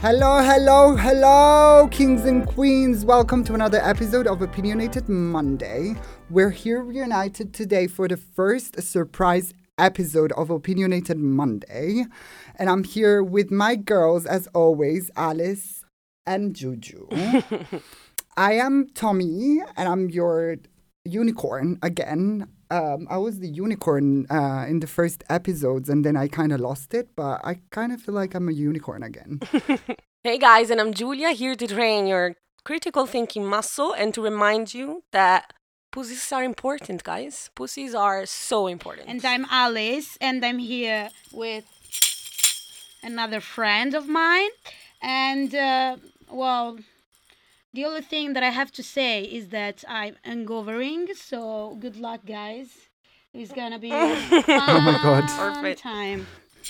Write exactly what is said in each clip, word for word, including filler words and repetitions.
Hello, hello, hello, kings and queens. Welcome to another episode of Opinionated Monday. We're here reunited today for the first surprise episode of Opinionated Monday. And I'm here with my girls, as always, Alice and Juju. I am Tommy, and I'm your unicorn again. Um, I was the unicorn uh, in the first episodes, and then I kind of lost it, but I kind of feel like I'm a unicorn again. Hey guys, and I'm Julia, here to train your critical thinking muscle and to remind you that pussies are important, guys. Pussies are so important. And I'm Alice, and I'm here with another friend of mine. And, uh, well, the only thing that I have to say is that I'm hangovering, so good luck, guys. It's gonna be a fun Oh my God. Perfect. time.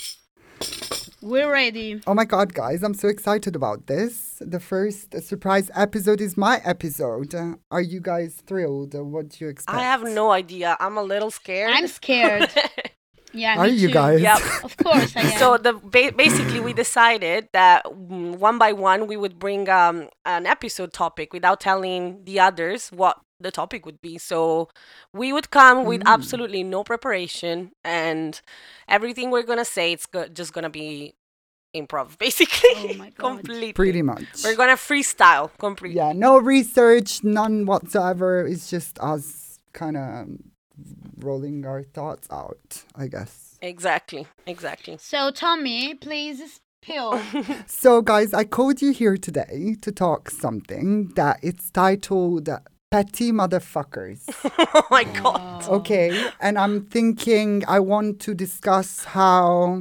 We're ready. Oh my God, guys, I'm so excited about this. The first surprise episode is my episode. Uh, are you guys thrilled? Uh, What do you expect? I have no idea. I'm a little scared. I'm scared. Yeah, Are me you too. guys? Yep. Of course I am. So the ba- basically we decided that mm, one by one we would bring um an episode topic without telling the others what the topic would be. So we would come with Mm. absolutely no preparation, and everything we're gonna say it's go- just gonna be improv, basically. Oh my God. Completely. Pretty much. We're gonna freestyle completely. Yeah, no research, none whatsoever. It's just us kind of rolling our thoughts out, I guess. Exactly. Exactly. So, Tommy, please spill. So, guys, I called you here today to talk something that it's titled Petty Motherfuckers. Oh my god. Okay, and I'm thinking I want to discuss how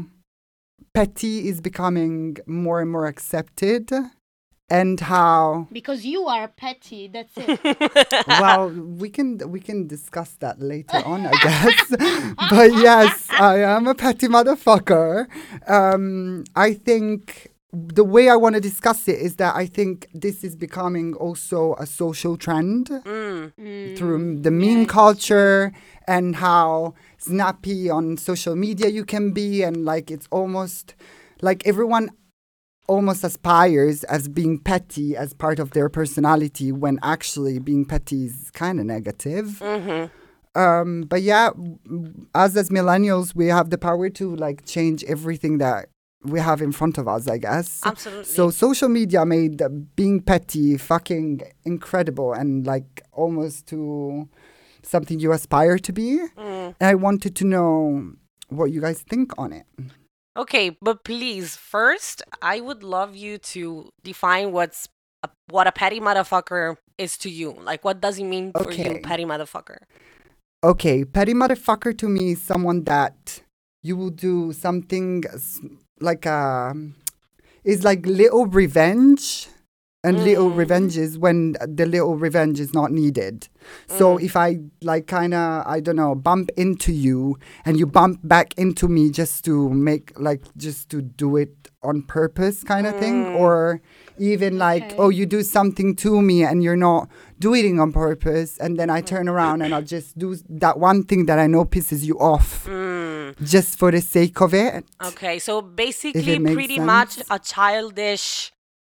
petty is becoming more and more accepted and how Because you are petty, that's it. well we can we can discuss that later on, I guess. But yes, I am a petty motherfucker. um I think the way I want to discuss it is that I think this is becoming also a social trend Mm. Mm. through the meme yes. culture and how snappy on social media you can be, and like it's almost like everyone almost aspires as being petty as part of their personality, when actually being petty is kind of negative. Mm-hmm. Um, but yeah, w- us as millennials, we have the power to like change everything that we have in front of us, I guess. Absolutely. So social media made uh, being petty fucking incredible and like almost to something you aspire to be. Mm. And I wanted to know what you guys think on it. Okay, but please, first, I would love you to define what's a, what a petty motherfucker is to you. Like, what does it mean for you, Okay. petty motherfucker? Okay, petty motherfucker to me is someone that you will do something s- like a is like little revenge, and little Mm. revenge is when the little revenge is not needed. So Mm. if I like kind of I don't know bump into you and you bump back into me just to make like just to do it on purpose kind of thing, Mm. or even like Okay. oh you do something to me and you're not doing it on purpose, and then I turn around and I'll just do that one thing that I know pisses you off Mm. just for the sake of it. Okay, so basically, makes pretty much sense. a childish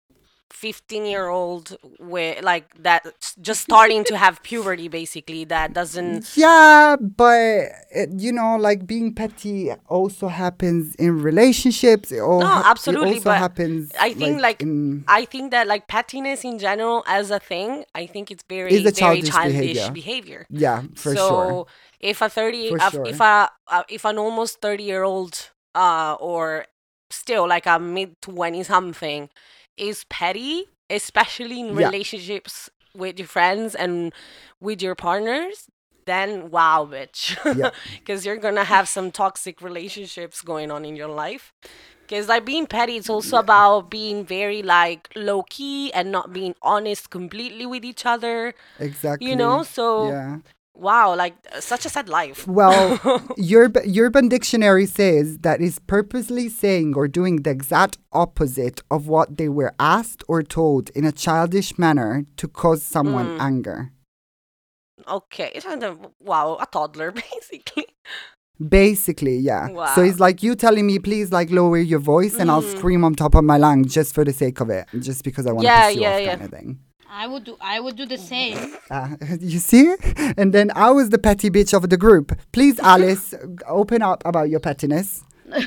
fifteen-year-old with like that just starting to have puberty, basically, that doesn't. Yeah, but it, you know, like being petty also happens in relationships. It all No, ha- absolutely, It also but happens. I think, like, in, I think that like pettiness in general as a thing, I think it's very, Is a very childish childish behavior. behavior. yeah, for so sure. if a thirty, For uh, sure. if a uh, if an almost thirty year old, uh, or still like a mid twenty something, is petty, especially in Yeah. relationships with your friends and with your partners, then wow, bitch, Yeah. because you're gonna have some toxic relationships going on in your life. Because like being petty, it's also about being very like low key and not being honest completely with each other. Exactly. You know, so Yeah. wow, like uh, such a sad life. Well, Urb- Urban Dictionary says that is purposely saying or doing the exact opposite of what they were asked or told in a childish manner to cause someone Mm. anger. Okay, it's kind of- wow, a toddler basically. Basically, yeah. Wow. So it's like you telling me, please, like lower your voice, and I'll scream on top of my lungs just for the sake of it, just because I want to Yeah, piss you yeah, off, yeah. kind of thing. I would do. I would do the same. Uh, you see? And then I was the petty bitch of the group. Please, Alice, open up about your pettiness.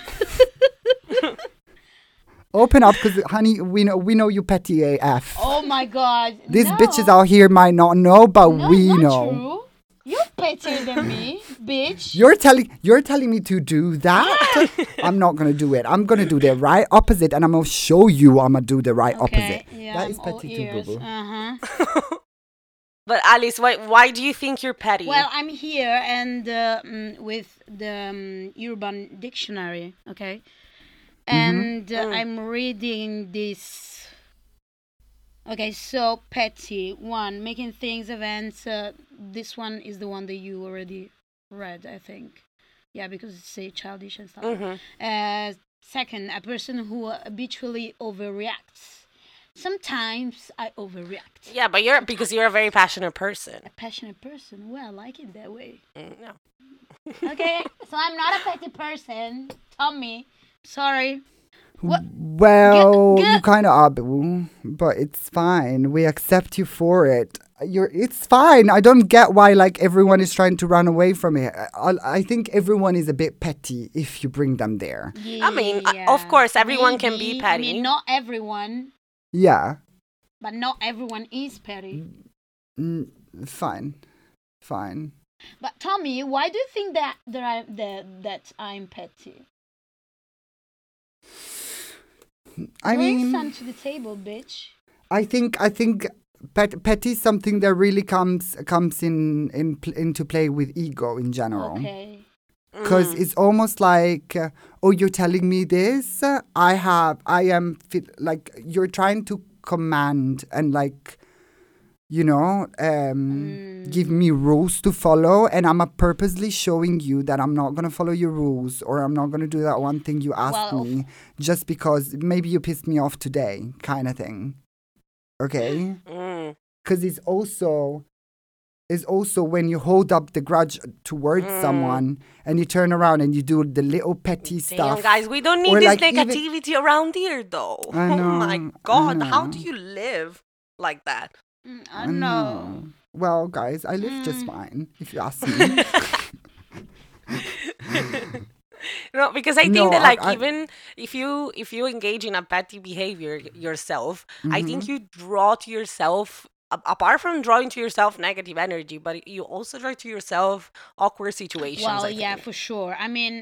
Open up, because honey, we know we know you petty A F. Oh my God! These no. bitches out here might not know, but No, we not know. true. You're pettier than me, bitch. You're telling you're telling me to do that? I'm not gonna do it. I'm gonna do the right opposite, and I'm gonna show you I'm gonna do the right Okay, opposite. yeah, that I'm is all petty too, ears. boo boo. Uh-huh. But Alice, why why do you think you're petty? Well, I'm here and uh, mm, with the um, Urban Dictionary, okay? And uh, Mm. I'm reading this. Okay, so petty. One, making things, events. Uh, this one is the one that you already read, I think. Yeah, because it's say childish and stuff. Mhm. Uh, second, a person who habitually overreacts. Sometimes I overreact. Yeah, but you're because you're a very passionate person. A passionate person. Well, I like it that way. Mm, no. Okay, so I'm not a petty person. Tommy, sorry. What? Well, Get- you get- kind of are, boo, but it's fine. We accept you for it. You're. It's fine. I don't get why like everyone is trying to run away from it. I, I think everyone is a bit petty if you bring them there. I mean, uh, of course, everyone can be Maybe. petty. I mean, not everyone, Yeah. but not everyone is petty. Mm, fine. Fine. But Tommy, why do you think that that, I, that, that I'm petty? I Bring mean, some to the table, bitch. I think I think pet, petty is something that really comes comes in, in pl- into play with ego in general. Okay. Because Mm. it's almost like, uh, oh, you're telling me this. Uh, I have, I am fit, like you're trying to command and like, you know, um, give me rules to follow, and I'm uh, purposely showing you that I'm not gonna follow your rules, or I'm not gonna do that one thing you asked Well, me, just because maybe you pissed me off today, kind of thing. Okay. Mm. Because it's also is also when you hold up the grudge towards Mm. someone and you turn around and you do the little petty Damn, stuff. guys, we don't need Or this like even- negativity around here, though. I Oh know, my I God, how do know. you live like that? Mm, I know. Well, guys, I live just Mm. fine, if you ask me. No, because I think No, that I- like I- even if you if you engage in a petty behavior y- yourself, I think Mm-hmm. you draw to yourself a- apart from drawing to yourself negative energy, but you also draw to yourself awkward situations. Well, I yeah, think. for sure. I mean,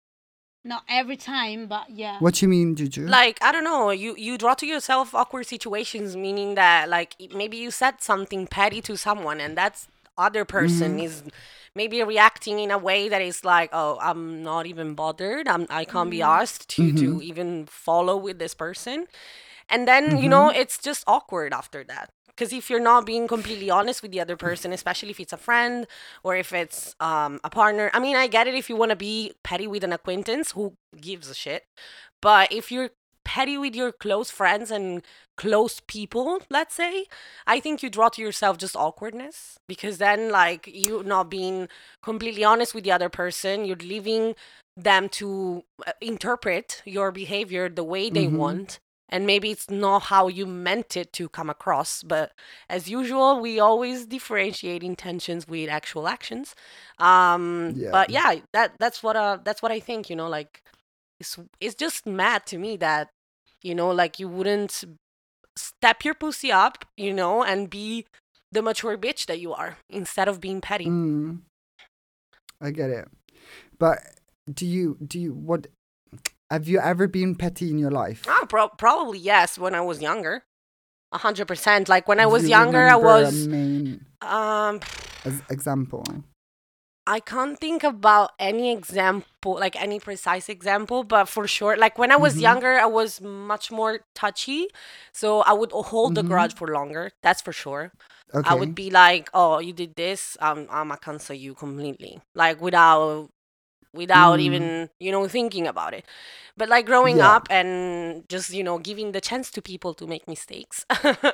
not every time, but yeah. What you mean, Juju? Like I don't know, you you draw to yourself awkward situations, meaning that like i- maybe you said something petty to someone, and that's other person Mm-hmm. is maybe reacting in a way that is like, oh, I'm not even bothered. I'm I can't be asked to Mm-hmm. to even follow with this person, and then you know Mm-hmm. it's just awkward after that. Because if you're not being completely honest with the other person, especially if it's a friend or if it's um, a partner, I mean, I get it if you want to be petty with an acquaintance, who gives a shit? But if you're petty with your close friends and close people, let's say, I think you draw to yourself just awkwardness because then, like, you not being completely honest with the other person, you're leaving them to uh, interpret your behavior the way they Mhm. want. And maybe it's not how you meant it to come across, but as usual, we always differentiate intentions with actual actions. Um, Yeah. But yeah, that that's what uh that's what I think. You know, like it's it's just mad to me that you know, like you wouldn't step your pussy up, you know, and be the mature bitch that you are instead of being petty. Mm. I get it. But do you, do you, what, have you ever been petty in your life? Ah, pro- probably yes. When I was younger, a hundred percent. Like when I Do was you younger, I remember a was main um. as example. I can't think about any example, like any precise example, but for sure, like when I was Mhm. younger, I was much more touchy. So I would hold the Mhm. grudge for longer. That's for sure. Okay. I would be like, oh, you did this, um, I'm gonna cancel you completely. Like without without Mm. even, you know, thinking about it. But like growing Yeah. up and just, you know, giving the chance to people to make mistakes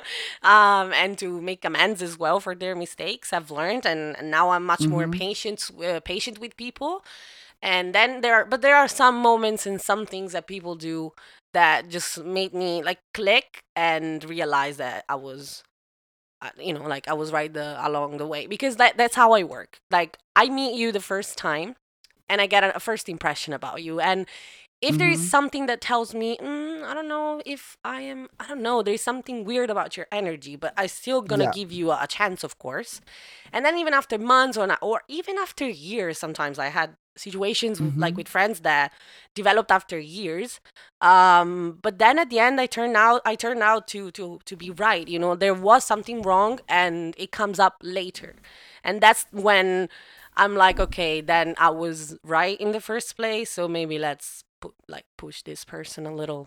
um, and to make amends as well for their mistakes, I've learned. And, and now I'm much more Mhm. patient, uh, patient with people. And then there are, but there are some moments and some things that people do that just made me like click and realize that I was, uh, you know, like I was right the along the way, because that that's how I work. Like I meet you the first time, and I get a, a first impression about you, and if there is Mm-hmm. something that tells me, mm, I don't know if I am, I don't know, there's something weird about your energy, but I still gonna Yeah. give you a, a chance, of course. And then even after months or not, or even after years, sometimes I had situations with, like Mm-hmm. with friends that developed after years. Um, but then at the end, I turned out, I turned out to to to be right. You know, there was something wrong, and it comes up later, and that's when I'm like, okay, then I was right in the first place. So maybe let's pu- like push this person a little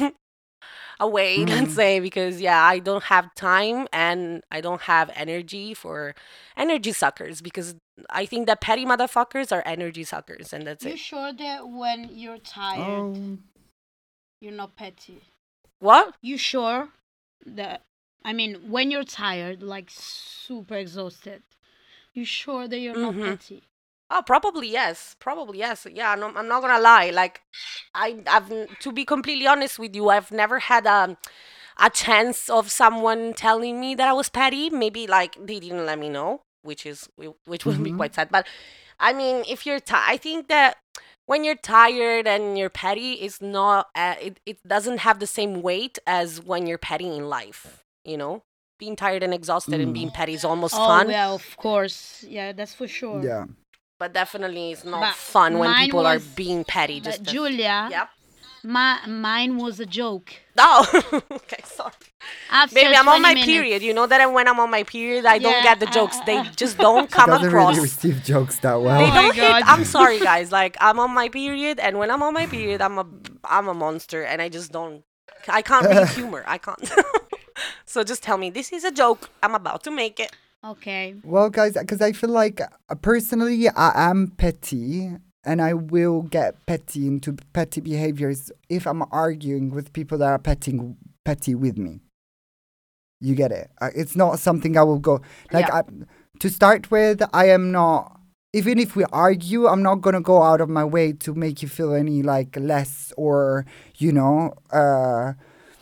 away, let's Mm-hmm. say, because yeah, I don't have time and I don't have energy for energy suckers, because I think that petty motherfuckers are energy suckers, and that's You it. sure that when you're tired, Oh. you're not petty? What? You sure that, I mean, when you're tired, like super exhausted, you sure that you're not Mm-hmm. petty? Oh, probably yes. Probably yes. Yeah, no, I'm not gonna lie. Like, I, I've n- to be completely honest with you, I've never had a a chance of someone telling me that I was petty. Maybe like they didn't let me know, which is whi- which would be Mm-hmm. quite sad. But I mean, if you're, ti I think that when you're tired and you're petty, it's not. Uh, it it doesn't have the same weight as when you're petty in life. You know, being tired and exhausted and Mm. being petty is almost Oh, fun, yeah, of course. Yeah, that's for sure. Yeah. but definitely it's not But fun when mine people are was, being petty. but Just as, Julia, yeah. my, mine was a joke. Oh, okay, sorry. After Baby, I'm on twenty my minutes. period. You know that when I'm on my period, I don't Yeah, get the uh, jokes. uh, They uh. just don't She come doesn't across. really receive jokes that Oh They well. my don't hit. God. I'm sorry, guys. Like I'm on my period, and when I'm on my period, I'm a I'm a monster, and I just don't. I can't read humor. I can't. So just tell me this is a joke. I'm about to make it. Okay. Well, guys, because I feel like uh, personally I am petty and I will get petty into petty behaviors if I'm arguing with people that are petty, petty with me. You get it? Uh, It's not something I will go like Yeah. I, to start with. I am not. Even if we argue, I'm not gonna go out of my way to make you feel any like less or you know. Uh,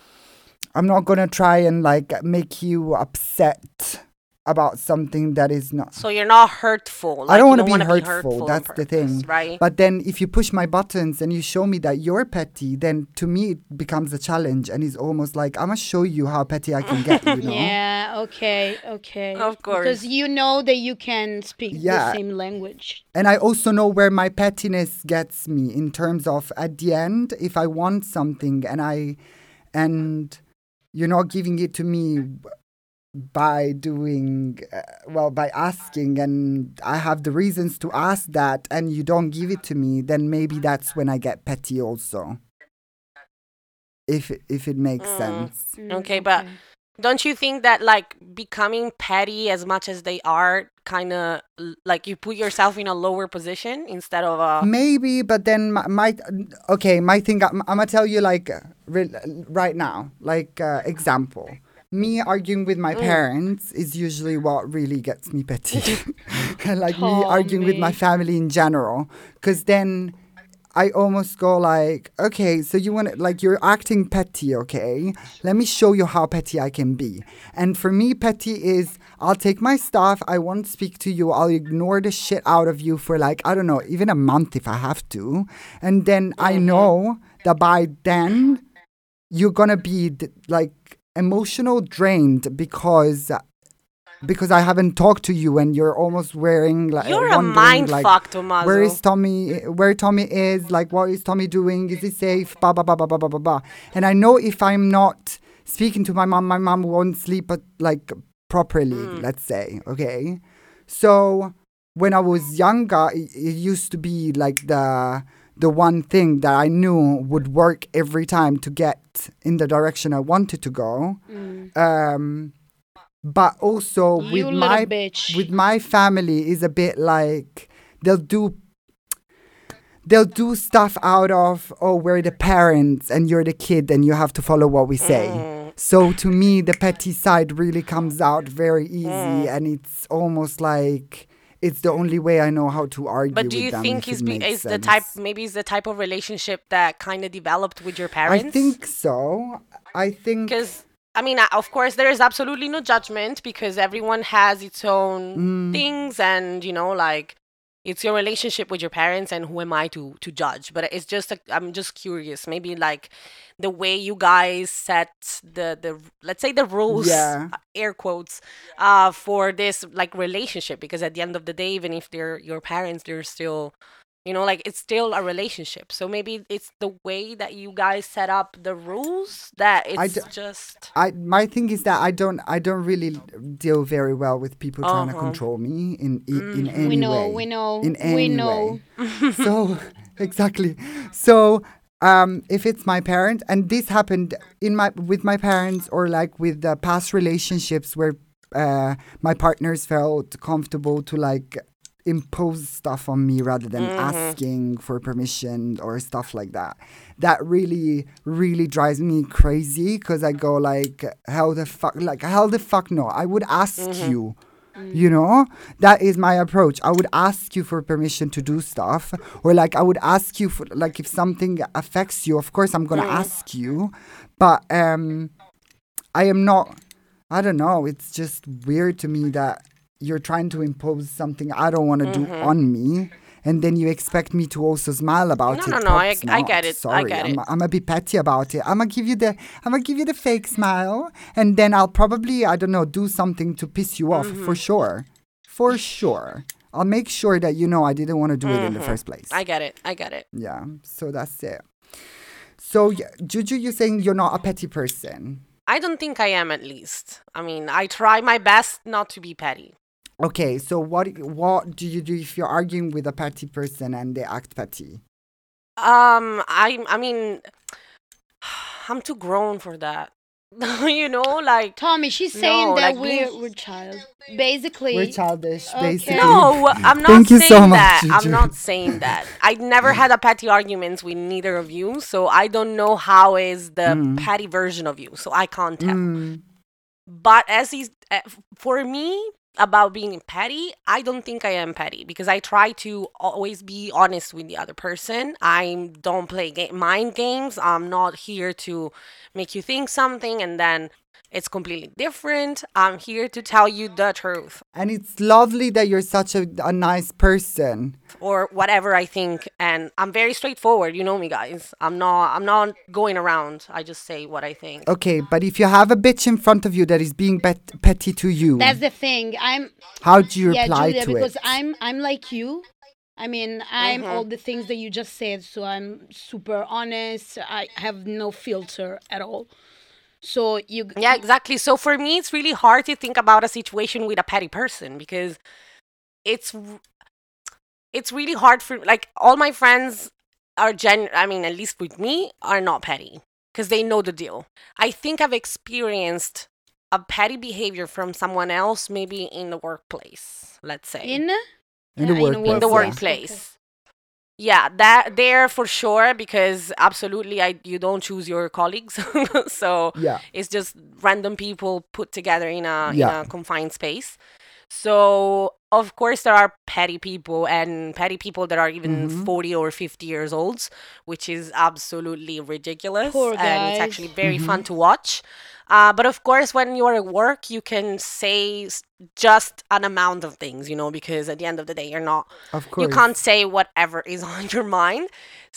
I'm not gonna try and like make you upset about something that is not. So you're not hurtful. Like, I don't you want to don't be wanna hurtful. on That's the purpose, thing. right? But then if you push my buttons and you show me that you're petty, then to me it becomes a challenge and it's almost like I'm gonna show you how petty I can get, you know? Yeah, okay, okay. Of course. Because you know that you can speak Yeah. the same language. And I also know where my pettiness gets me in terms of at the end, if I want something and I and you're not giving it to me by doing uh, well by asking and I have the reasons to ask that and you don't give it to me, then maybe that's when I get petty also. If it- if it makes Mm. sense. Mm, Okay, but don't you think that like becoming petty as much as they are kind of like you put yourself in a lower position instead of a Maybe, but then my, my okay, my thing. I'm, I'm gonna tell you like uh, re- right now, like uh, example. Me arguing with my Mm. parents is usually what really gets me petty. Like me Oh, arguing with my me. family in general, because then I almost go like, okay, so you want to, like, you're acting petty, okay? Let me show you how petty I can be. And for me, petty is I'll take my stuff, I won't speak to you, I'll ignore the shit out of you for like, I don't know, even a month if I have to. And then I Mhm. know that by then you're gonna be d- like emotional drained because because I haven't talked to you and you're almost wearing like you're a wondering mind like fuck, Tommaso. where is Tommy? Where Tommy is? Like, what is Tommy doing? Is he safe? Ba ba ba ba ba ba ba ba. And I know if I'm not speaking to my mom, my mom won't sleep uh, like properly. Mm. Let's say, okay. So when I was younger, it, it used to be like the the one thing that I knew would work every time to get in the direction I wanted to go. Mm. Um, but also You with little my bitch. with my family is a bit like they'll do they'll do stuff out of, oh, we're the parents and you're the kid and you have to follow what we say. Mm. So to me the petty side really comes out very easy Mm. and it's almost like it's the only way I know how to argue But do with you them. think if he's it be, makes is the type sense. maybe is the type of relationship that kind of developed with your parents? I think so. I think. Because I mean, uh, of course, there is absolutely no judgment because everyone has its own Mm, things, and you know, like it's your relationship with your parents, and who am I to to judge? But it's just a, I'm just curious, maybe like the way you guys set the the let's say the rules, yeah. uh, air quotes, uh, for this like relationship, because at the end of the day, even if they're your parents, they're still, you know, like it's still a relationship. So maybe it's the way that you guys set up the rules that I it's d- just. I my thing is that I don't I don't really deal very well with people trying to Uh-huh. control me in in, in Mhm. any We know, way. we know, In we any know. way. So exactly. So um, if it's my parent, and this happened in my with my parents, or like with the past relationships where uh, my partners felt comfortable to like impose stuff on me rather than Mhm. asking for permission or stuff like that. That really, really drives me crazy because I go like, how the fuck, like, how the fuck no? I would ask Mhm. you. You know, that is my approach. I would ask you for permission to do stuff, or like I would ask you for like if something affects you. Of course, I'm gonna Mhm. ask you, but um, I am not. I don't know. It's just weird to me that you're trying to impose something I don't want to do Mhm. on me, and then you expect me to also smile about No, it. no, no. I Props I not. get it. I Sorry, get I'm it. I'm a bit petty about it. I'm gonna give you the I'm gonna give you the fake smile, and then I'll probably I don't know do something to piss you off for Mhm. sure, for sure. I'll make sure that you know I didn't want to do it in the Mhm. first place. I get it. I get it. Yeah, so that's it. So yeah, Juju, you're saying you're not a petty person. I don't think I am, at least. I mean, I try my best not to be petty. Okay, so what what do you do if you're arguing with a petty person and they act petty? Um, I I mean, I'm too grown for that. You know, like Tommy, she's no, saying that like we're being. we're child. We're Basically, childish, okay. basically. No, I'm not Thank you saying so much, that. I'm Juju. not saying that. I never had a petty arguments with neither of you, so I don't know how is the Mm. petty version of you, so I can't tell. Mm. But as he's uh, for me about being petty, I don't think I am petty because I try to always be honest with the other person. I don't play ga- mind games. I'm not here to make you think something and then it's completely different. I'm here to tell you the truth And it's lovely that you're such a, a nice person. or whatever I think, and I'm very straightforward. You know me, guys. I'm not. I'm not going around. I just say what I think. Okay, but if you have a bitch in front of you that is being bet- petty to you, That's the thing. I'm how do you yeah, reply Julia, to because it? I'm I'm like you. I mean, I'm Mhm. all the things that you just said. So I'm super honest. I have no filter at all. So you Yeah, exactly. So for me, it's really hard to think about a situation with a petty person because it's r- it's really hard for like all my friends are gen. I mean, at least with me, are not petty because they know the deal. I think I've experienced a petty behavior from someone else, maybe in the workplace. Let's say in In the uh, workplace, in the yeah. workplace. Yeah, that there for sure because absolutely I you don't choose your colleagues. So Yeah. it's just random people put together in a in Yeah. a confined space. So of course there are petty people and petty people that are even Mhm. forty or fifty years old, which is absolutely ridiculous Poor and it's guys. actually very Mhm. fun to watch. Uh, but of course, when you're at work, you can say s- just an amount of things, you know, because at the end of the day, you're not Of you course. can't say whatever is on your mind.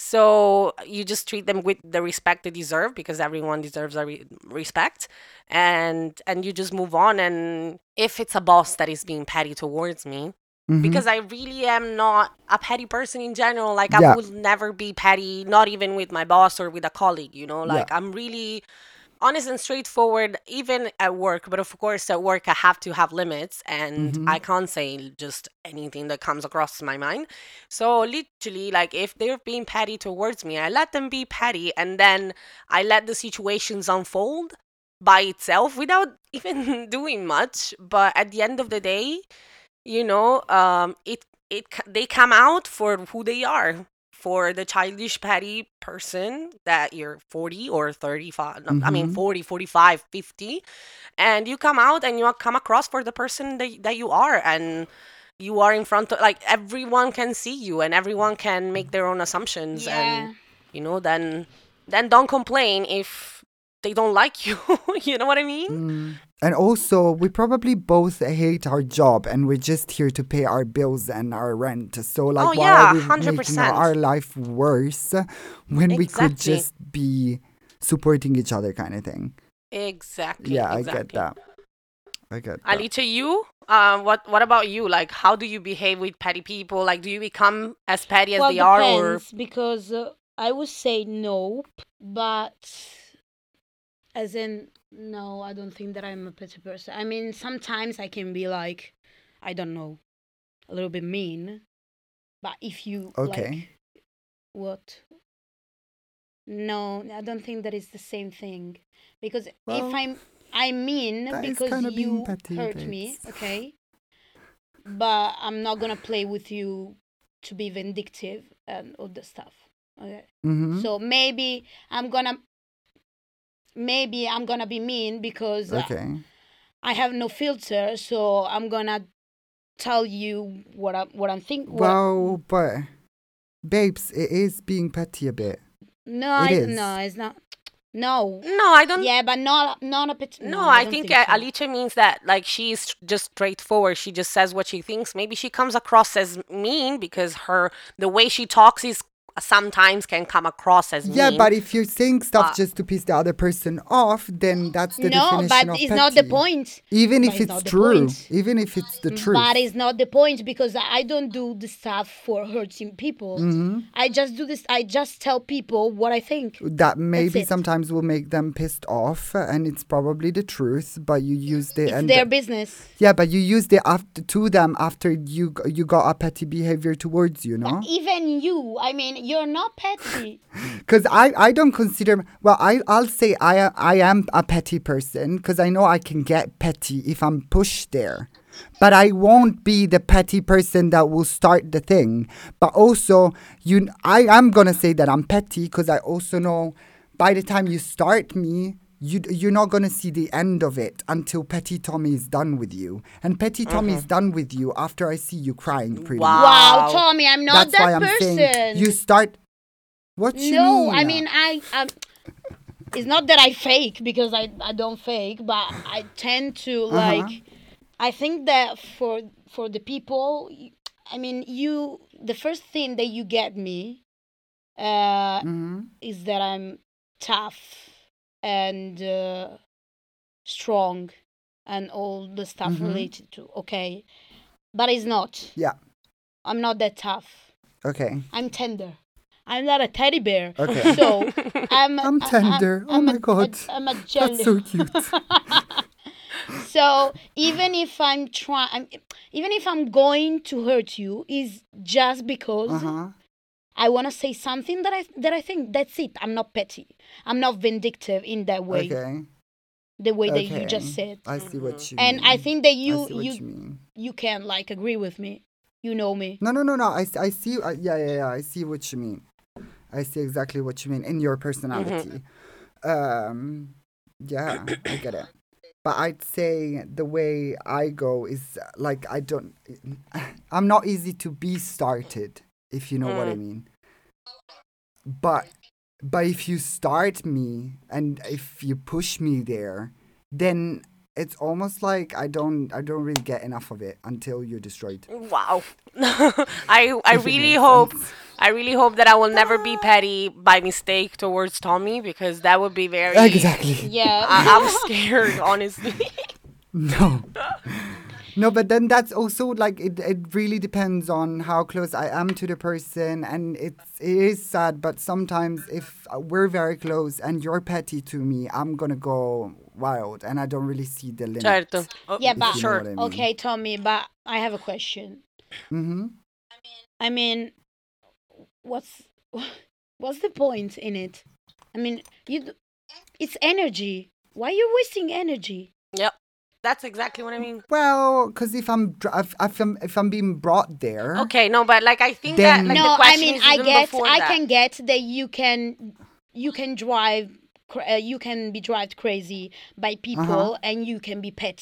So you just treat them with the respect they deserve because everyone deserves a re- respect, and and you just move on. And if it's a boss that is being petty towards me, Mhm. because I really am not a petty person in general. Like Yeah. I will never be petty, not even with my boss or with a colleague. You know, Yeah. like I'm really honest and straightforward even at work, but of course at work I have to have limits and Mhm. I can't say just anything that comes across my mind. So literally, like if they're being petty towards me, I let them be petty and then I let the situations unfold by itself without even doing much. But at the end of the day, you know, um it it c- they come out for who they are, for the childish petty person that you're forty or thirty-five, no, I mean Mhm. forty, forty-five, fifty, and you come out and you come across for the person that, that you are, and you are in front of, like, everyone can see you and everyone can make their own assumptions. Yeah. And, you know, then then don't complain if they don't like you. You know what I mean? Mm. And also, we probably both hate our job and we're just here to pay our bills and our rent. So, like, Oh, why yeah, are we one hundred making percent. our life worse when we could Exactly. just be supporting each other kind of thing? Exactly. Yeah, exactly. I get that. I get that. Alita, you? Um, what what about you? Like, how do you behave with petty people? Like, do you become as petty as Well, they are, or depends because uh, I would say no, but as in no, I don't think that I'm a petty person. I mean, sometimes I can be like, I don't know, a little bit mean, but if you Okay. like what? No, I don't think that is the same thing because Well, if I'm I mean that is because kinda being you petty, hurt me, babes. okay? But I'm not gonna play with you to be vindictive and all the stuff. Okay. Mm-hmm. So maybe I'm gonna maybe I'm gonna be mean because uh, Okay. I have no filter, so I'm gonna tell you what I what I'm thinking. Well, but babes, it is being petty a bit. no, it I, is. no, it's not. No. no? I don't. Yeah, but not not a bit. No, No, I, don't think, think uh, so. Alicia means that, like, she's just straightforward. She just says what she thinks. Maybe she comes across as mean because her the way she talks is sometimes can come across as Yeah, mean. but if you're saying stuff Uh, just to piss the other person off, then that's the No, definition but of it's petty. not the point. Even But if it's it's not the true. point. Even if it's the truth. But it's not the point because I don't do the stuff for hurting people. Mm-hmm. I just do this. I just tell people what I think. That maybe it. sometimes will make them pissed off, and it's probably the truth. But you used it, It's and their business. yeah, but you used it after to them after you g- you got a petty behavior towards you, no? Even you. I mean, you're not petty. Because I, I don't consider well I I'll say I I am a petty person because I know I can get petty if I'm pushed there, but I won't be the petty person that will start the thing. But also you I am gonna say that I'm petty because I also know by the time you start me. You, you're not going to see the end of it until Petty Tommy is done with you. And Petty Tommy is done with you after I see you crying pretty Wow. much. Wow, Tommy, I'm not That's why that I'm person. saying you start... What you no, mean? I mean I. I'm, it's not that I fake because I I don't fake, but I tend to like. Uh-huh. I think that for for the people, I mean, you the first thing that you get me, uh, Mhm. is that I'm tough and uh, strong and all the stuff Mhm. related to. Okay, but it's not. Yeah. I'm not that tough. Okay. I'm tender. I'm not a teddy bear. Okay. So I'm. I'm tender. Oh I'm my a- God. a- I'm a jelly. That's so cute. So even if I'm trying, even if I'm going to hurt you, is just because Uh-huh. I want to say something that I that I think. That's it. I'm not petty. I'm not vindictive in that way. Okay. The way that Okay. you just said. I see what you And mean. I think that I you see what you, you mean. you can like agree with me. You know me. No, no, no, no. I, I see. Uh, yeah, yeah, yeah. I see what you mean. I see exactly what you mean in your personality. Um, yeah, I get it. But I'd say the way I go is uh, like I don't. I'm not easy to be started, if you know what I mean. But but if you start me and if you push me there, then it's almost like I don't I don't really get enough of it until you're destroyed. Wow. I I If it really makes hope sense. I really hope that I will never be petty by mistake towards Tommy, because that would be very Exactly. Yeah. I, I'm scared, honestly. No. No, but then that's also like it, it really depends on how close I am to the person, and it's it is sad, but sometimes if we're very close and you're petty to me, I'm gonna go wild and I don't really see the limit. Certo. Oh, Yeah, If but you know sure. what I mean. okay, Tommy, but I have a question. Mm-hmm. I mean, what's what's the point in it? I mean, you d- it's energy. Why are you wasting energy? Yep. That's exactly what I mean. Well, because if I'm dr- if, if I'm if I'm being brought there, Okay, no, but like I think Then- that like, No, the I question mean, is I even get, before I that. can get that you can, you can drive, cra- uh, you can be driven crazy by people, Uh-huh. and you can be petty.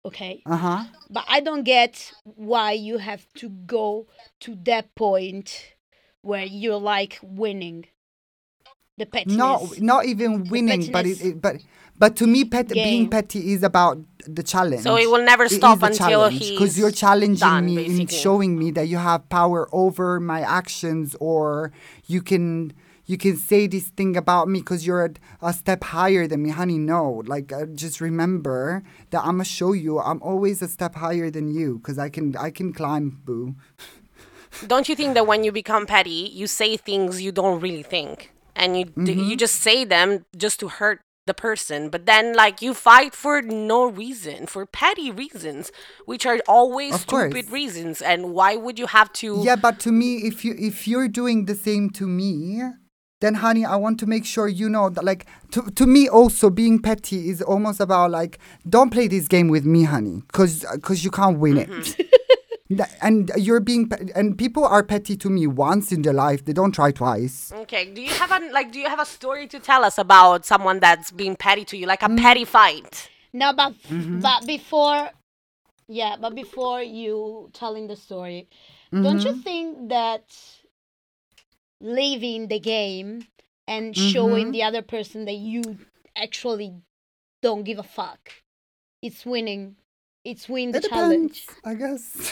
okay? Uh-huh. But I don't get why you have to go to that point where you're like winning the pettiness. No, not even winning, but it, pettiness it but but to me, pet, being game. petty is about the challenge. So it will never It stop is a until challenge because he's you're challenging done, me in basically. showing me that you have power over my actions, or you can you can say this thing about me because you're a, a step higher than me, honey. No, like uh, just remember that I'm gonna show you I'm always a step higher than you because I can I can climb, boo. Don't you think that when you become petty, you say things you don't really think, and you d- Mm-hmm. you just say them just to hurt the person, but then like you fight for no reason, for petty reasons, which are always Of stupid course. reasons. And why would you have to? Yeah, but to me, if you if you're doing the same to me, then honey, I want to make sure you know that like to to me also being petty is almost about like don't play this game with me, honey, because because you can't win it. That- and you're being pe- and people are petty to me once in their life. They don't try twice. Okay, do you have a like? Do you have a story to tell us about someone that's being petty to you, like Mm. a petty fight? No, but Mm-hmm. but before, yeah, but before you telling the story, don't you Mm-hmm. think that leaving the game and showing Mm-hmm. the other person that you actually don't give a fuck, it's winning, it's win the It depends, challenge. I guess.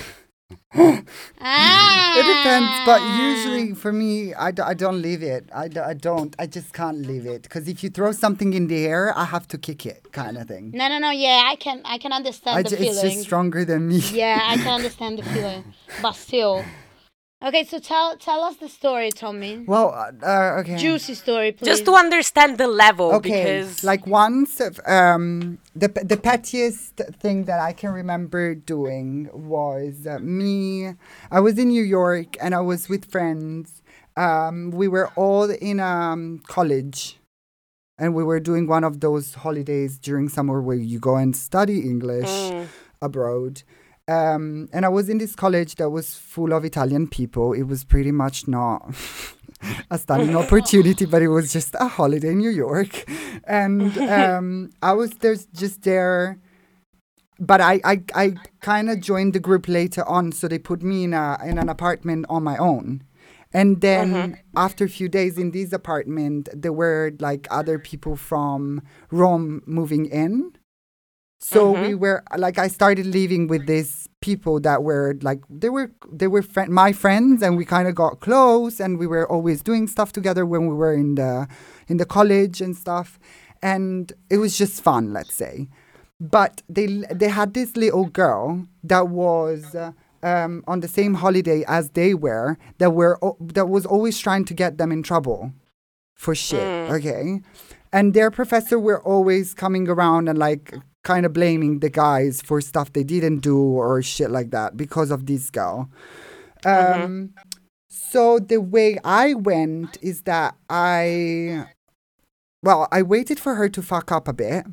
Ah, It depends, but usually for me, I, d- I don't leave it. I, d- I don't. I just can't leave it. Because if you throw something in the air, I have to kick it, kind of thing. No, no, no. Yeah, I can, I can understand I the ju- it's feeling. just stronger than me. Yeah, I can understand the feeling, but still. Okay, so tell, tell us the story, Tommy. Well, uh, uh, okay. Juicy story, please. Just to understand the level, Okay, because like once, um, the the pettiest thing that I can remember doing was uh, me. I was in New York and I was with friends. Um, we were all in um college, and we were doing one of those holidays during summer where you go and study English Mm. abroad. Um, and I was in this college that was full of Italian people. It was pretty much not a studying opportunity, but it was just a holiday in New York. And um, I was there's just there. But I, I, I kind of joined the group later on, so they put me in a in an apartment on my own. And then after a few days in this apartment, there were like other people from Rome moving in. So we were like, I started living with these people that were like, they were they were fri my friends, and we kind of got close, and we were always doing stuff together when we were in the in the college and stuff, and it was just fun, let's say. But they they had this little girl that was uh, um, on the same holiday as they were, that were o- that was always trying to get them in trouble for shit. Okay, and their professor were always coming around and like kind of blaming the guys for stuff they didn't do or shit like that because of this girl. Um, so the way I went is that I, well, I waited for her to fuck up a bit,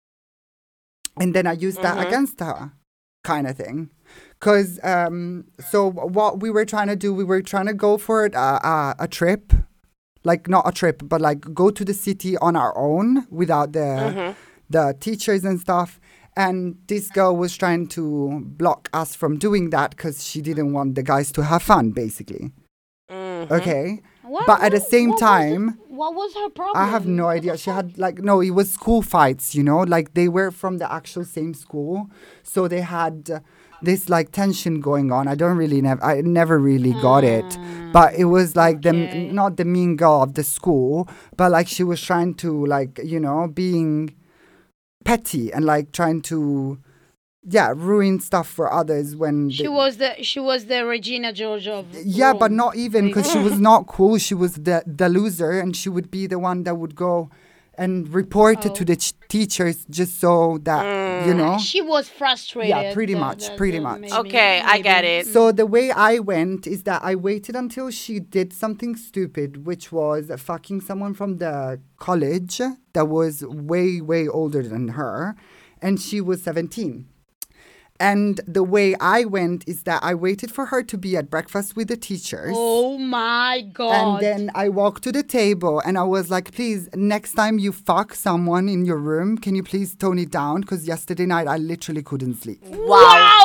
and then I used that against her, kind of thing. Because, um, so what we were trying to do, we were trying to go for a, a, a trip, like not a trip, but like go to the city on our own without the the teachers and stuff. And this girl was trying to block us from doing that because she didn't want the guys to have fun, basically. Okay. What- But at the what- same what was the- time, what was her problem? I have no What the idea. She fuck? had like no, it was school fights, you know, like they were from the actual same school, so they had uh, this like tension going on. I don't really never, I never really got it, but it was like Ah, okay. the not the mean girl of the school, but like she was trying to like you know being petty and like trying to yeah ruin stuff for others when She they- was the she was the Regina George of yeah, but Rome. not even because she was not cool. She was the the loser, and she would be the one that would go and report it to Oh. the ch- teachers just so that you know. She was frustrated. Yeah, pretty the- much, the- pretty the- much. maybe- Okay, I get maybe. it. So the way I went is that I waited until she did something stupid, which was fucking someone from the college that was way way older than her, and she was seventeen. And the way I went is that I waited for her to be at breakfast with the teachers. Oh my God. And then I walked to the table and I was like, please, next time you fuck someone in your room, can you please tone it down? Because yesterday night I literally couldn't sleep. Wow.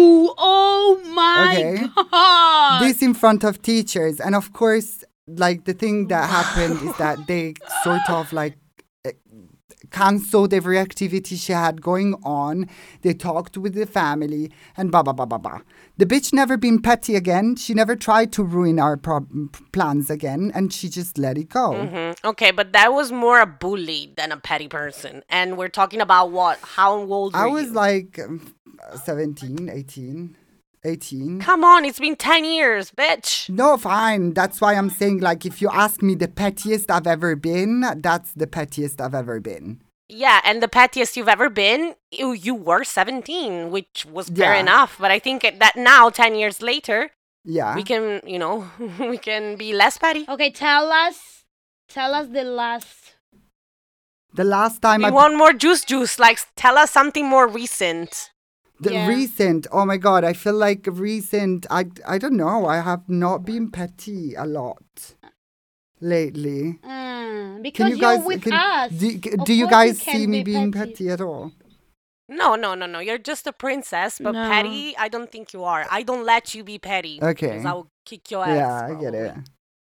Oh my Okay. God. This in front of teachers. And of course, like the thing that happened is that they sort of like eh, cancelled every activity she had going on. They talked with the family and blah, blah, blah, blah, blah. The bitch never been petty again. She never tried to ruin our pro- plans again. And she just let it go. Mm-hmm. Okay, but that was more a bully than a petty person. And we're talking about what? How old were I you? was like um, seventeen, eighteen, eighteen. Come on, it's been ten years, bitch. No, fine. That's why I'm saying, like, if you ask me the pettiest I've ever been, that's the pettiest I've ever been. Yeah, and the pettiest you've ever been, you, you were seventeen, which was fair Yeah. enough. But I think that now, ten years later, Yeah. we can, you know, we can be less petty. Okay, tell us, tell us the last. The last time We I... want more juice juice. Like, tell us something more recent. The Yeah. recent, oh my God, I feel like recent, I, I don't know, I have not been petty a lot lately. Mm, because Can you you're guys, with can- us. do, Of do you course guys can see me be being petty at all? No, no, no, no. You're just a princess, but No. petty, I don't think you are. I don't let you be petty. Okay. Because I will kick your ass. Yeah, I get probably. it.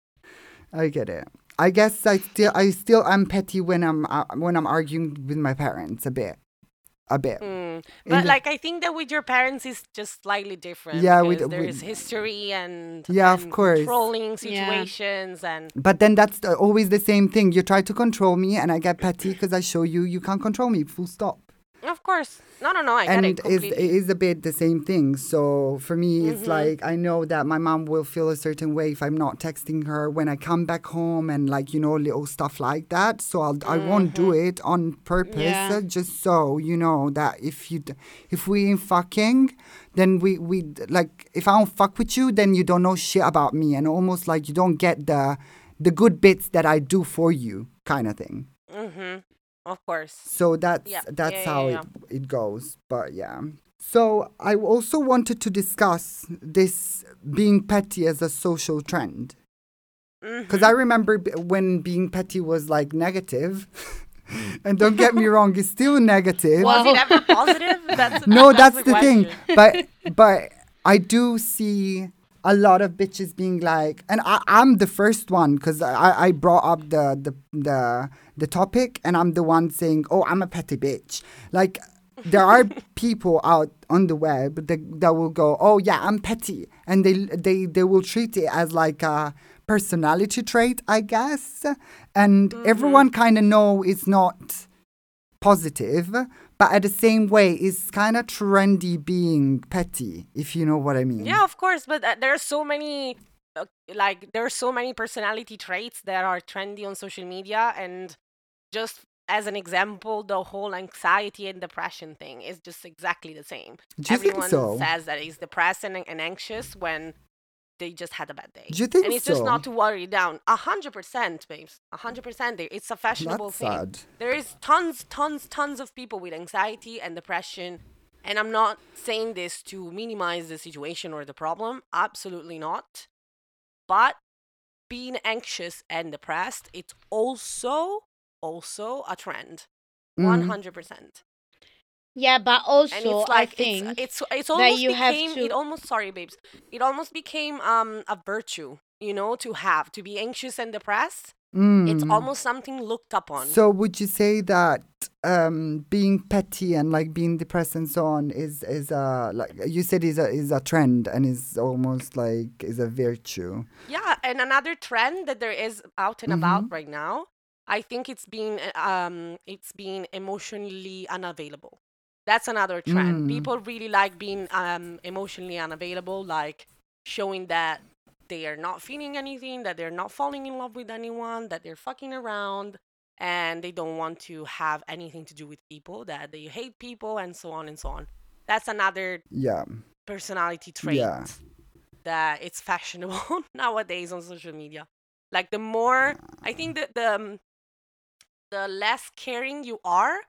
I get it. I guess I still I still am petty when I'm uh, when I'm arguing with my parents a bit. A bit. Mm. In But the- like I think that with your parents is just slightly different. Yeah, with- because there with- is history and Yeah, of and course. controlling Yeah. situations and But then that's the, always the same thing. You try to control me and I get petty because I show you you can't control me, full stop. of course. No, no, no. I and get it is completely. it is a bit the same thing. So for me, it's Mhm. like I know that my mom will feel a certain way if I'm not texting her when I come back home and like you know little stuff like that. So I'll I won't do it on purpose, Yeah. uh, just so you know that if you d- if we ain't fucking, then we we d- like if I don't fuck with you, then you don't know shit about me, and almost like you don't get the the good bits that I do for you, kind of thing. Mm-hmm. Of course. So that's Yeah, that's yeah, yeah, how yeah. it it goes. But yeah. So I also wanted to discuss this being petty as a social trend. Because I remember b- when being petty was like negative. And don't get me wrong, it's still negative. Well, Was it ever positive? That's No, that's, the, thing. question. But but I do see a lot of bitches being like, and I, I'm the first one because I, I brought up the, the the the topic, and I'm the one saying, oh, I'm a petty bitch. Like there are people out on the web that, that will go, oh yeah, I'm petty, and they they they will treat it as like a personality trait, I guess, and everyone kind of know it's not positive, but at the same way, it's kind of trendy being petty, if you know what I mean. Yeah, of course. But uh, there are so many, uh, like, there are so many personality traits that are trendy on social media. And just as an example, the whole anxiety and depression thing is just exactly the same. Do you think Everyone so? says that he's depressed and, and anxious when they just had a bad day. Do you think and it's so? just not to worry you down. A hundred percent, babes. A hundred percent. It's a fashionable That's thing. sad. There is tons, tons, tons of people with anxiety and depression. And I'm not saying this to minimize the situation or the problem. Absolutely not. But being anxious and depressed, it's also, also a trend. Mm. one hundred percent. Yeah, but also And it's like, I think it's, it's, it's almost you have became, to- it almost, sorry, babes. It almost became um a virtue, you know, to have, to be anxious and depressed. It's Mm. almost something looked upon. So would you say that um, being petty and like being depressed and so on is is a like you said is a is a trend and is almost like is a virtue? Yeah, and another trend that there is out and Mm-hmm. about right now, I think it's being uh, um it's being emotionally unavailable. That's another trend. Mm. People really like being um emotionally unavailable, like showing that they are not feeling anything, that they're not falling in love with anyone, that they're fucking around, and they don't want to have anything to do with people, that they hate people, and so on and so on. That's another Yeah. personality trait Yeah. that it's fashionable nowadays on social media. Like the more, I think that the um, the less caring you are,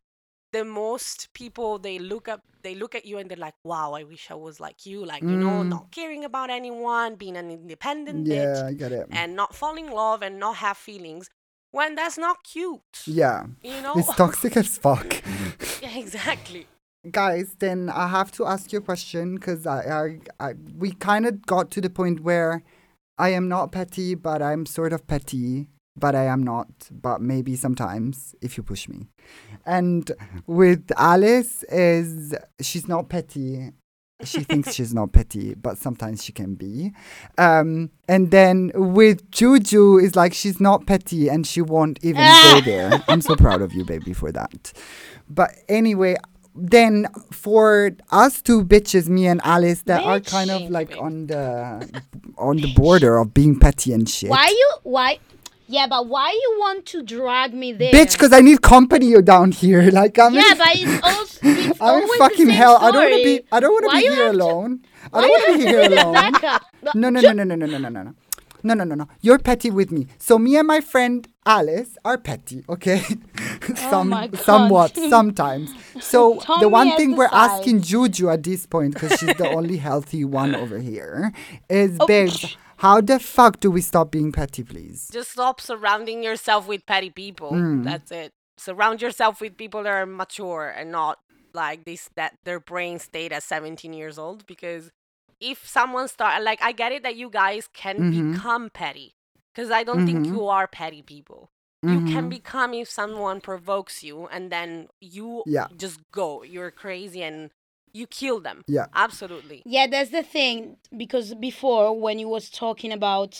the most people, they look up they look at you and they're like, wow, I wish I was like you, like, you know, Mm. not caring about anyone, being an independent Yeah, bitch, I get it. and not fall in love and not have feelings, when that's not cute. Yeah. You know? It's toxic as fuck. Yeah, exactly. Guys, then I have to ask you a question because I, I, I, we kind of got to the point where I am not petty, but I'm sort of petty, but I am not, but maybe sometimes if you push me. And with Alice is she's not petty. She thinks she's not petty, but sometimes she can be. Um, and then with Juju is like she's not petty and she won't even go there. I'm so proud of you, baby, for that. But anyway, then for us two bitches, me and Alice, that are kind of Bitch. like on the on the border of being petty and shit. Why you why? Yeah, but why you want to drag me there? Bitch, because I need company down here. Like I'm yeah, in, but it's also it's I'm in always fucking the same hell. Story. I don't want to be. I don't want to Why be you here have to- alone. I Why don't you want to have be to here be the alone. backup? No, no, no, no, no, no, no, no, no, no. No, no, no, no. You're petty with me. So me and my friend Alice are petty, okay? Some, my God. somewhat, sometimes. So Tommy the one has thing the we're side. asking Juju at this point, because she's the only healthy one over here, is, Oh. babes, how the fuck do we stop being petty, please? Just stop surrounding yourself with petty people. Mm. That's it. Surround yourself with people that are mature and not like this, that their brain stayed at seventeen years old. Because if someone start, like, I get it that you guys can Mhm. become petty, because I don't think Mhm. you are petty people. You can Mhm. become if someone provokes you and then you Yeah. just go. You're crazy and you kill them. Yeah. Absolutely. Yeah, that's the thing. Because before, when you was talking about,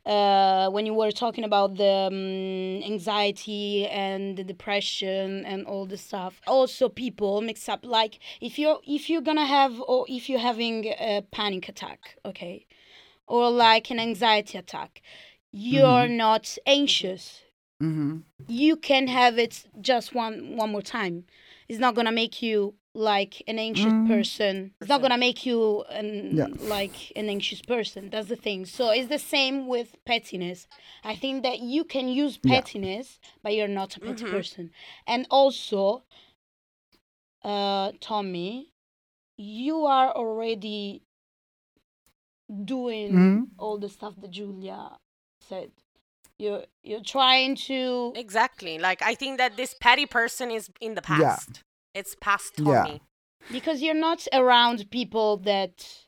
uh, when you were talking about the um, anxiety and the depression and all the stuff, also people mix up. Like if you're if you're gonna have or if you're having a panic attack, okay, or like an anxiety attack, you're not anxious. Mm-hmm. You can have it just one one more time. It's not gonna make you like an anxious Mm. person. It's not gonna make you an, Yeah. like an anxious person. That's the thing. So it's the same with pettiness. I think that you can use Yeah. pettiness, but you're not a petty Mhm. person. And also, uh, Tommy, you are already doing Mhm. all the stuff that Julia said. You're you're trying to Exactly. Like, I think that this petty person is in the Yeah. past. It's past Yeah. Tommy. because you're not around people that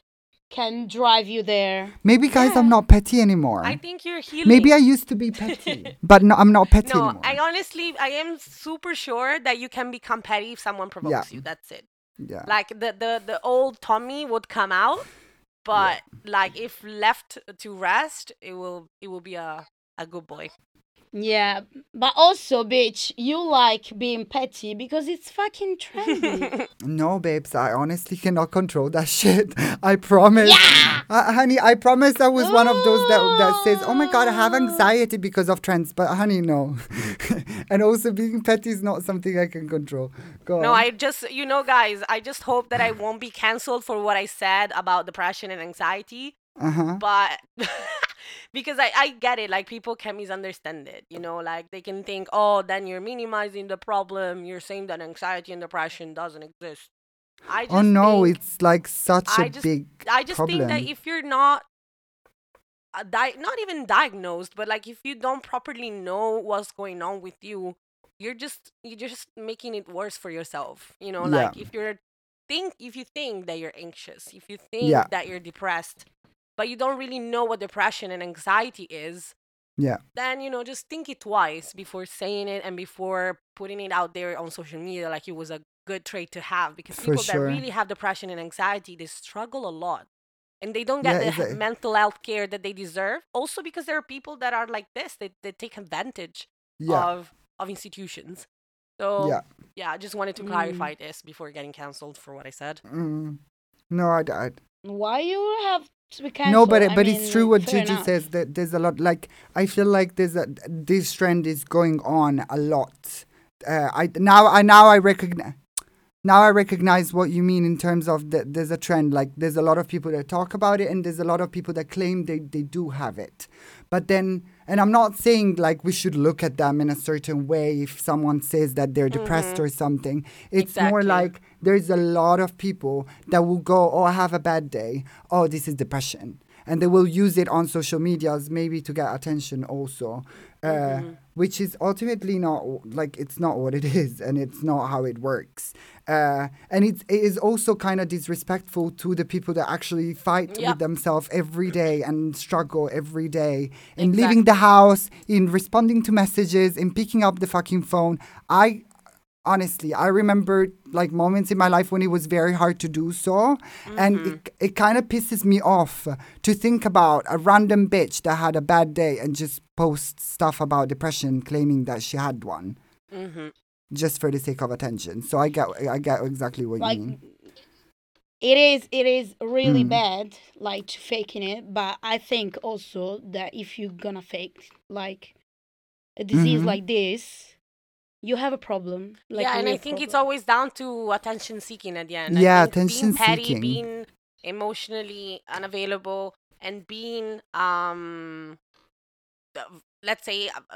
can drive you there. Maybe, guys, I'm Yeah. not petty anymore. I think you're healing. Maybe I used to be petty, but no, I'm not petty No, anymore. I honestly, I am super sure that you can become petty if someone provokes you. That's it. yeah. Like, the, the, the old Tommy would come out, but like, if left to rest, it will it will be a, a good boy. Yeah, but also, bitch, you like being petty because it's fucking trendy. No, babes, I honestly cannot control that shit. I promise. Uh, honey, I promise I was one of those that, that says, oh my God, I have anxiety because of trends. But honey, no. And also being petty is not something I can control. Go No, on. I just, you know, guys, I just hope that I won't be canceled for what I said about depression and anxiety. Uh-huh. But because I, I get it, like, people can misunderstand it, you know, like, they can think, oh, then you're minimizing the problem, you're saying that anxiety and depression doesn't exist. I just Oh no, think, it's like such I a just- big I just problem. think that if you're not uh, di- not even diagnosed, but like, if you don't properly know what's going on with you, you're just you're just making it worse for yourself, you know. Yeah. Like, if you're think if you think that you're anxious, if you think Yeah. that you're depressed, but you don't really know what depression and anxiety is, Yeah. then, you know, just think it twice before saying it and before putting it out there on social media like it was a good trait to have. Because For people sure. that really have depression and anxiety, they struggle a lot. And they don't get Yeah, the it's he- a- mental health care that they deserve. Also, because there are people that are like this, they, they take advantage Yeah. of, of institutions. So, Yeah. yeah, I just wanted to clarify this before getting canceled for what I said. Mm. No, I, I, Why you have to be canceled? no, but I but mean, it's true what fair Gigi enough. says, that there's a lot. Like, I feel like there's a this trend is going on a lot. Uh, I now I now I recognize. now I recognize what you mean in terms of the, there's a trend. Like there's a lot of people that talk about it, and there's a lot of people that claim they, they do have it. But then, and I'm not saying like we should look at them in a certain way if someone says that they're depressed Mm-hmm. or something. It's more Exactly. like there's a lot of people that will go, oh, I have a bad day. Oh, this is depression. And they will use it on social medias maybe to get attention also. Uh, Mm-hmm. which is ultimately not like it's not what it is, and it's not how it works. Uh, and it's, it is also kind of disrespectful to the people that actually fight Yep. with themselves every day and struggle every day in leaving Exactly. the house, in responding to messages, in picking up the fucking phone. I honestly, I remember like moments in my life when it was very hard to do so. And it, it kind of pisses me off to think about a random bitch that had a bad day and just post stuff about depression claiming that she had one Mm-hmm. just for the sake of attention. So I get I get exactly what Like you mean. it is it is really Mm. bad like to faking it, but I think also that if you're gonna fake like a disease Mhm. like this, you have a problem. Like yeah, a and real I think it's problem. always down to attention seeking at the end. I Yeah, think attention being petty, seeking. being emotionally unavailable, and being um, uh, let's say, uh, uh,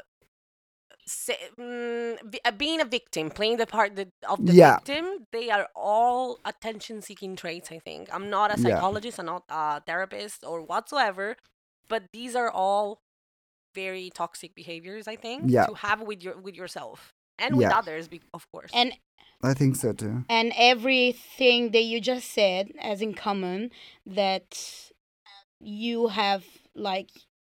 say mm, vi- uh, being a victim, playing the part that, of the Yeah. victim. They are all attention seeking traits. I think I'm not a Yeah. psychologist, I'm not a therapist or whatsoever, but these are all very toxic behaviors. I think Yeah. to have with your with yourself and with Yeah. others, be- of course. and I think so too. and everything that you just said as in common, that you have like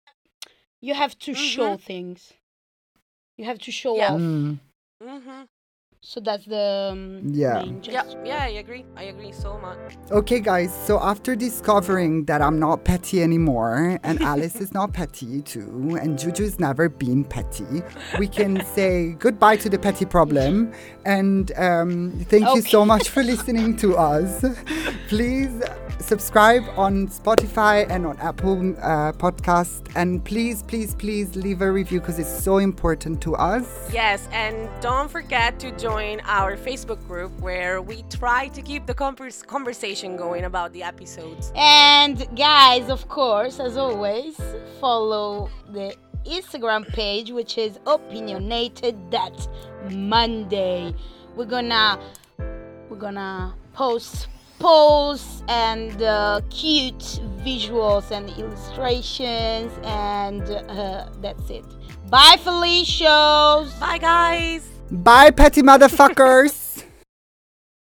you have to show things, you have to show Yeah. off. Mm. Mm-hmm. So that's the um, Yeah. main Yeah, gist. yeah, I agree. I agree so much. Okay, guys, so after discovering that I'm not petty anymore, and Alice is not petty too, and Juju's never been petty, we can say goodbye to the petty problem. And um, thank you so Okay. much for listening to us. Please subscribe on Spotify and on Apple uh, Podcast. And please, please, please leave a review because it's so important to us. Yes, and don't forget to join our Facebook group where we try to keep the convers- conversation going about the episodes. And guys, of course, as always, follow the Instagram page, which is opinionated that Monday. We're gonna we're gonna post polls and uh, cute visuals and illustrations, and uh, that's it. Bye, Felicios. Bye, guys! Bye, petty motherfuckers.